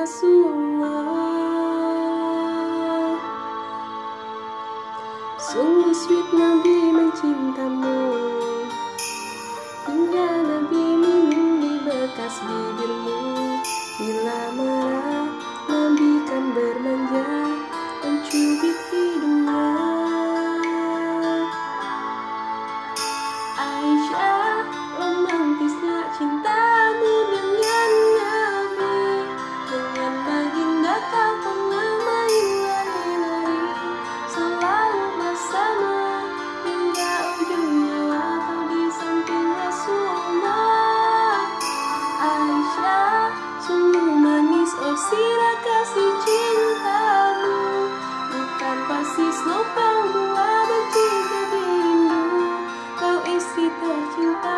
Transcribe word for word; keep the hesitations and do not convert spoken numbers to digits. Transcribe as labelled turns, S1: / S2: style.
S1: Rasulullah. Sungguh sweet Nabi mencintamu, hingga Nabi minum di bekas bibirmu. Bila marah, Nabi kan bermanja, mencubit hidungnya. Aisyah, romantisnya cintamu dengan Nabi. Dengan baginda kau pernah main lari-lari, selalu bersama hingga ujung nyawa kau di samping Rasulullah. Aisyah, sungguh manis oh sirah kasih cintamu, bukan persis lubang buah benci jadi rindu. Kau istri tercinta